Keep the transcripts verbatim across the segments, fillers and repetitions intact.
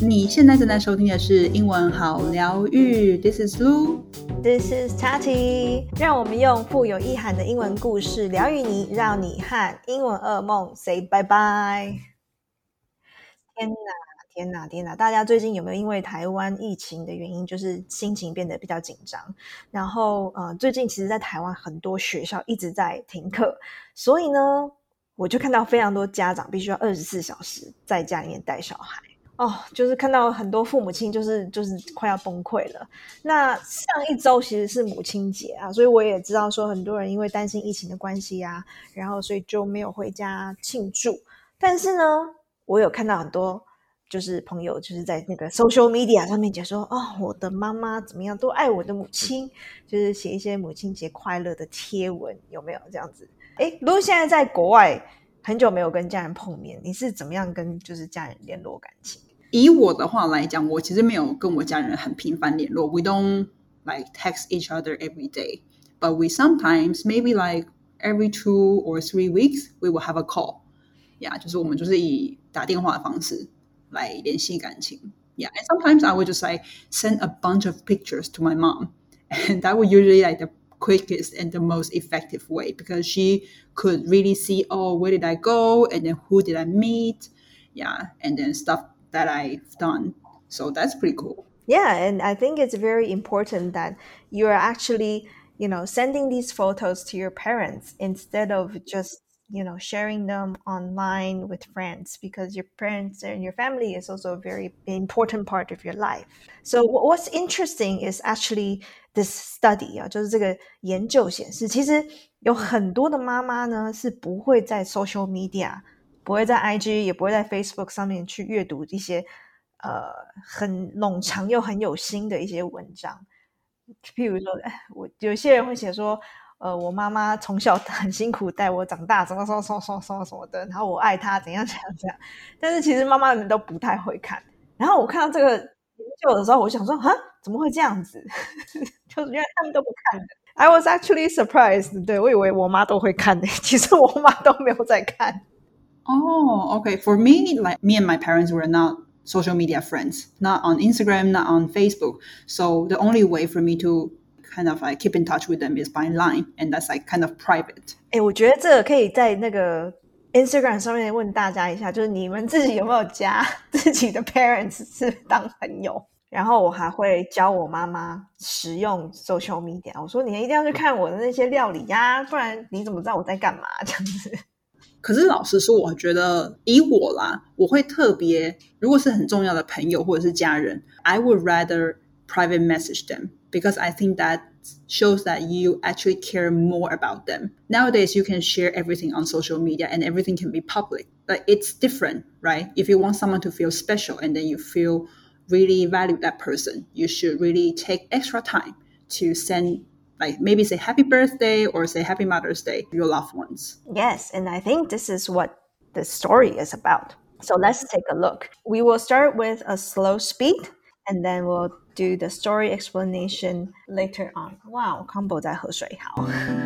你现在正在收听的是英文好疗愈 This is Lu This is Tati 让我们用富有意涵的英文故事疗愈你，让你和英文噩梦 say bye bye。 天哪天哪天哪，大家最近有没有因为台湾疫情的原因就是心情变得比较紧张，然后呃，最近其实在台湾很多学校一直在停课，所以呢我就看到非常多家长必须要二十四小时在家里面带小孩哦，就是看到很多父母亲就是就是快要崩溃了。那上一周其实是母亲节啊，所以我也知道说很多人因为担心疫情的关系啊，然后所以就没有回家庆祝。但是呢我有看到很多就是朋友就是在那个 social media 上面讲说，哦，我的妈妈怎么样都爱我的母亲，就是写一些母亲节快乐的贴文，有没有这样子？诶，如果现在在国外很久没有跟家人碰面，你是怎么样跟就是家人联络感情？ 以我的话来讲，我其实没有跟我家人很频繁联络。We don't like text each other every day, but we sometimes maybe like every two or three weeks we will have a call. Yeah, 就是我们就是以打电话的方式来联系感情。Yeah, and sometimes I would just like send a bunch of pictures to my mom, and that would usually like the quickest and the most effective way because she could really see, oh, where did I go, and then who did I meet, yeah, and then stuff that I've done. So that's pretty cool. Yeah, and I think it's very important that you are actually, you know, sending these photos to your parents instead of just, you know, sharing them online with friends, because your parents and your family is also a very important part of your life. So what's interesting is actually this study 啊，就是这个研究显示，其实有很多的妈妈呢是不会在 social media， 不会在 I G， 也不会在 Facebook 上面去阅读一些呃很冗长又很有心的一些文章。譬如说，我有些人会写说，呃，我妈妈从小很辛苦带我长大，什么什么什么什么什么什么的，然后我爱她怎样怎样怎样。但是其实妈妈们都不太会看。然后我看到这个研究的时候，我想说，啊，怎么会这样子？就是原来他们都不看的。I was actually surprised. 对，我以为我妈都会看的，其实我妈都没有在看。 Oh, okay. For me, like me and my parents were not social media friends, not on Instagram, not on Facebook. So the only way for me to kind of like keep in touch with them is by line, and that's like kind of private. 诶，我觉得这个可以在那个 Instagram 上面问大家一下，就是你们自己有没有加自己的 parents 是当朋友？然后我还会教我妈妈使用 social media， 我说你一定要去看我的那些料理呀、啊，不然你怎么知道我在干嘛这样子。 可是老实说，我觉得以我啦，我会特别，如果是很重要的朋友或者是家人 I would rather private message them because I think that shows that you actually care more about them. Nowadays, you can share everything on social media and everything can be public. But it's different, right? If you want someone to feel special and then you feel really value that person, you should really take extra time to send like maybe say happy birthday or say happy Mother's Day to your loved ones. Yes, and I think this is what the story is about. So let's take a look. We will start with a slow speed and then we'll do the story explanation later on. Wow, Combo 在喝水，好。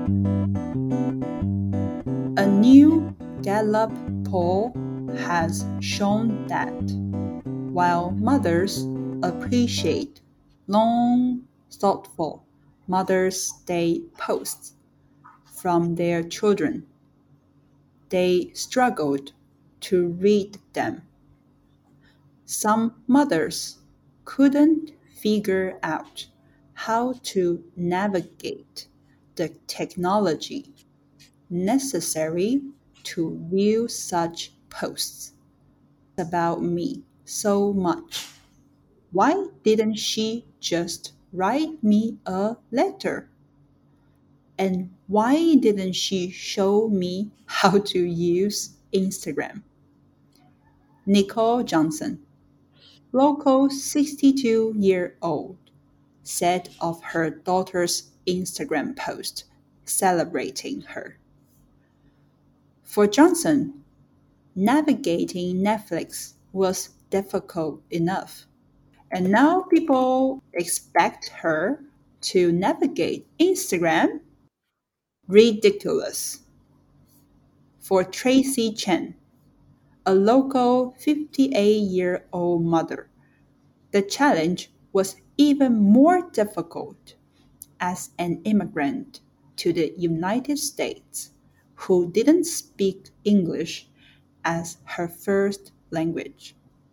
A new Gallup poll has shown that while mothers appreciate long, thoughtful Mother's Day posts from their children, they struggled to read them. Some mothers couldn't figure out how to navigate the technology necessary to view such posts about me so much. Why didn't she just write me a letter? And why didn't she show me how to use Instagram? Nicole Johnson, local sixty-two-year-old, said of her daughter's Instagram post celebrating her. For Johnson, navigating Netflix was difficult enough. And now people expect her to navigate Instagram? Ridiculous. For Tracy Chen, a local fifty-eight-year-old mother The challenge was even more difficult as an immigrant to the United States who didn't speak English as her first language.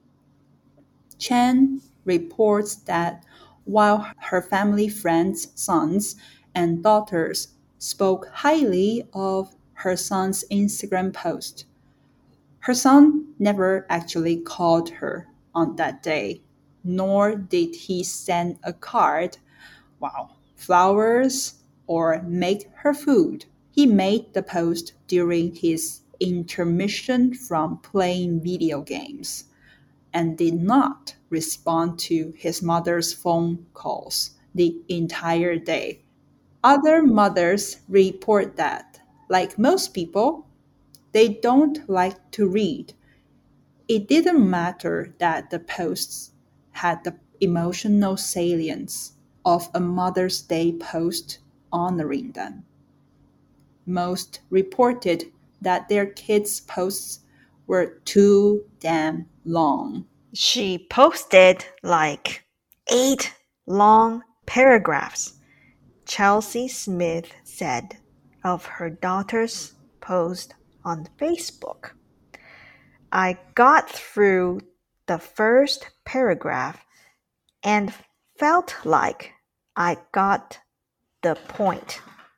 Chen reports that while her family friends' sons and daughters spoke highly of her son's Instagram post, her son never actually called her on that day, nor did he send a card, wow, flowers, or make her food. He made the post during his intermission from playing video games and did not respond to his mother's phone calls the entire day. Other mothers report that, like most people, they don't like to read. It didn't matter that the posts had the emotional salience of a Mother's Day post honoring them. Most reported that their kids' posts were too damn long. She posted like eight long paragraphs, Chelsea Smith said of her daughter's post on Facebook. I got through the first paragraph and felt like I got the point.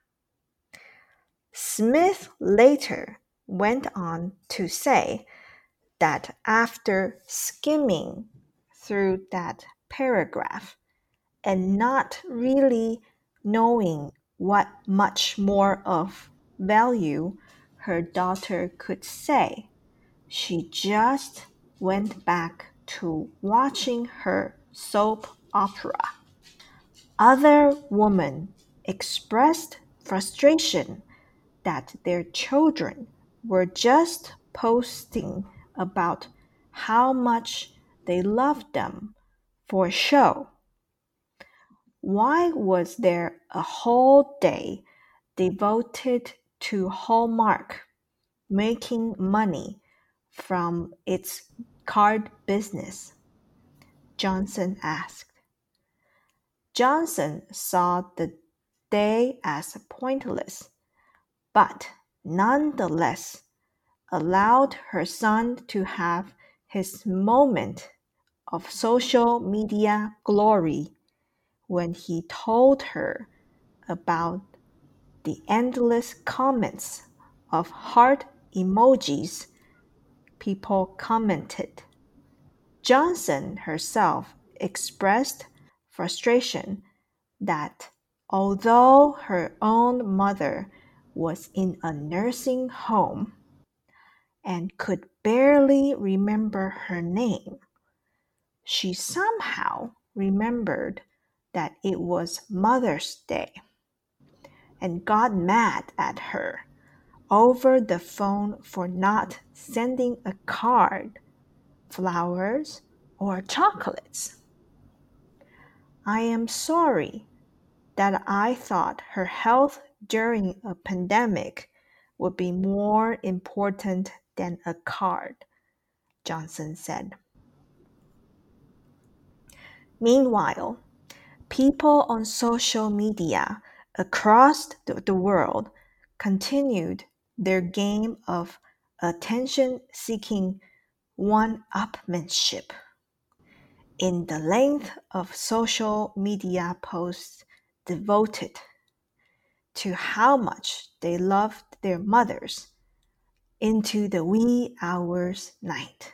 Smith later went on to say that after skimming through that paragraph and not really knowing what much more of value her daughter could say, she just went back to watching her soap opera. Other women expressed frustration that their children were just posting about how much they loved them for show. Why was there a whole day devoted to Hallmark making money from its card business? Johnson asked. Johnson saw the day as pointless, but nonetheless allowed her son to have his moment of social media glory when he told her about the endless comments of heart emojis people commented. Johnson herself expressed frustration that although her own mother was in a nursing home and could barely remember her name, she somehow remembered that it was Mother's Day and got mad at her over the phone for not sending a card, flowers, or chocolates. I am sorry that I thought her health during a pandemic would be more important than a card, Johnson said. Meanwhile, people on social media across the world continued their game of attention-seeking one-upmanship. In the length of social media posts devoted to how much they loved their mothers into the wee hours night.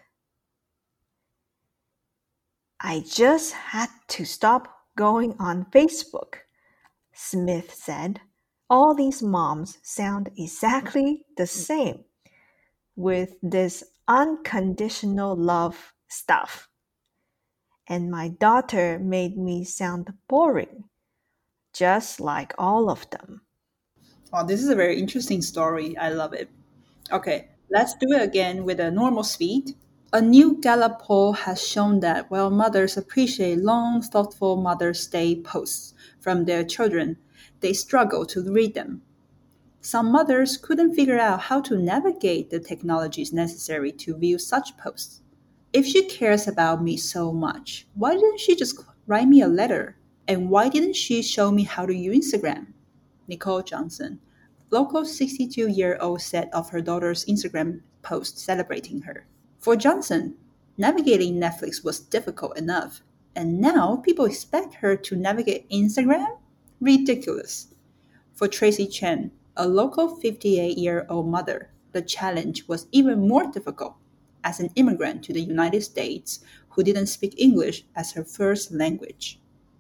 I just had to stop going on Facebook, Smith said. All these moms sound exactly the same with this unconditional love stuff. And my daughter made me sound boring, just like all of them. Wow, this is a very interesting story. I love it. Okay, let's do it again with a normal speed. A new Gallup poll has shown that while mothers appreciate long, thoughtful Mother's Day posts from their children, they struggle to read them. Some mothers couldn't figure out how to navigate the technologies necessary to view such posts. If she cares about me so much, why didn't she just write me a letter? And why didn't she show me how to use Instagram? Nicole Johnson, local sixty-two-year-old said of her daughter's Instagram post celebrating her. For Johnson, navigating Netflix was difficult enough, and now people expect her to navigate Instagram? Ridiculous. For Tracy Chen, a local fifty-eight-year-old mother, the challenge was even more difficult. As an immigrant to the United States who didn't speak English as her first language.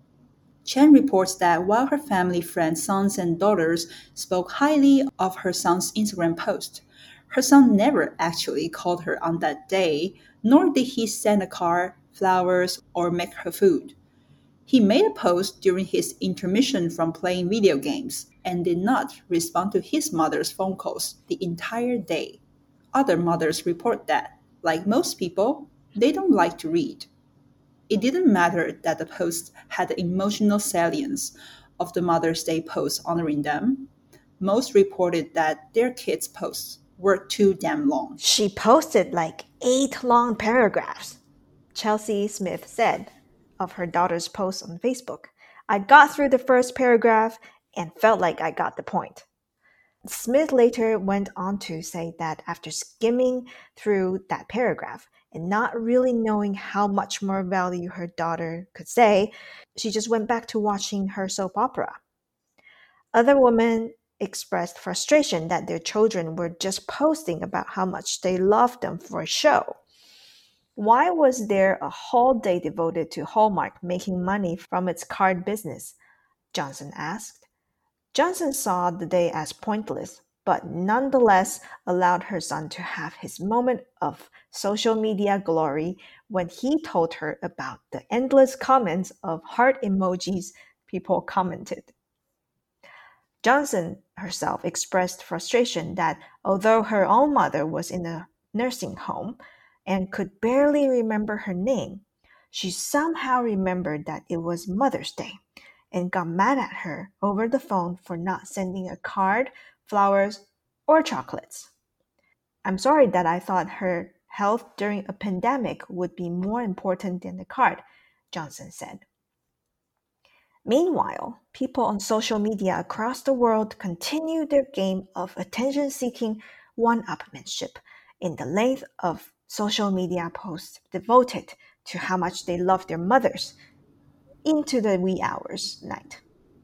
Chen reports that while her family, friends, sons, and daughters spoke highly of her son's Instagram post, her son never actually called her on that day, nor did he send a card, flowers, or make her food. He made a post during his intermission from playing video games and did not respond to his mother's phone calls the entire day. Other mothers report that, like most people, they don't like to read. It didn't matter that the post had the emotional salience of the Mother's Day post honoring them. Most reported that their kids' posts were too damn long. She posted like eight long paragraphs, Chelsea Smith said of her daughter's post on Facebook. I got through the first paragraph and felt like I got the point. Smith later went on to say that after skimming through that paragraph and not really knowing how much more value her daughter could say, she just went back to watching her soap opera. Other women expressed frustration that their children were just posting about how much they loved them for a show. Why was there a whole day devoted to Hallmark making money from its card business? Johnson asked. Johnson saw the day as pointless, but nonetheless allowed her son to have his moment of social media glory when he told her about the endless comments of heart emojis people commented. Johnson herself expressed frustration that although her own mother was in a nursing home and could barely remember her name, she somehow remembered that it was Mother's Day and got mad at her over the phone for not sending a card, flowers, or chocolates. I'm sorry that I thought her health during a pandemic would be more important than the card, Johnson said. Meanwhile, people on social media across the world continue their game of attention-seeking one-upmanship in the length of social media posts devoted to how much they love their mothers into the wee hours night.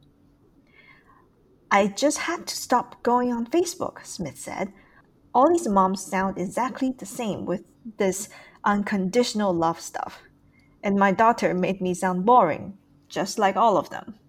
I just had to stop going on Facebook, Smith said. All these moms sound exactly the same with this unconditional love stuff. And my daughter made me sound boring, just like all of them.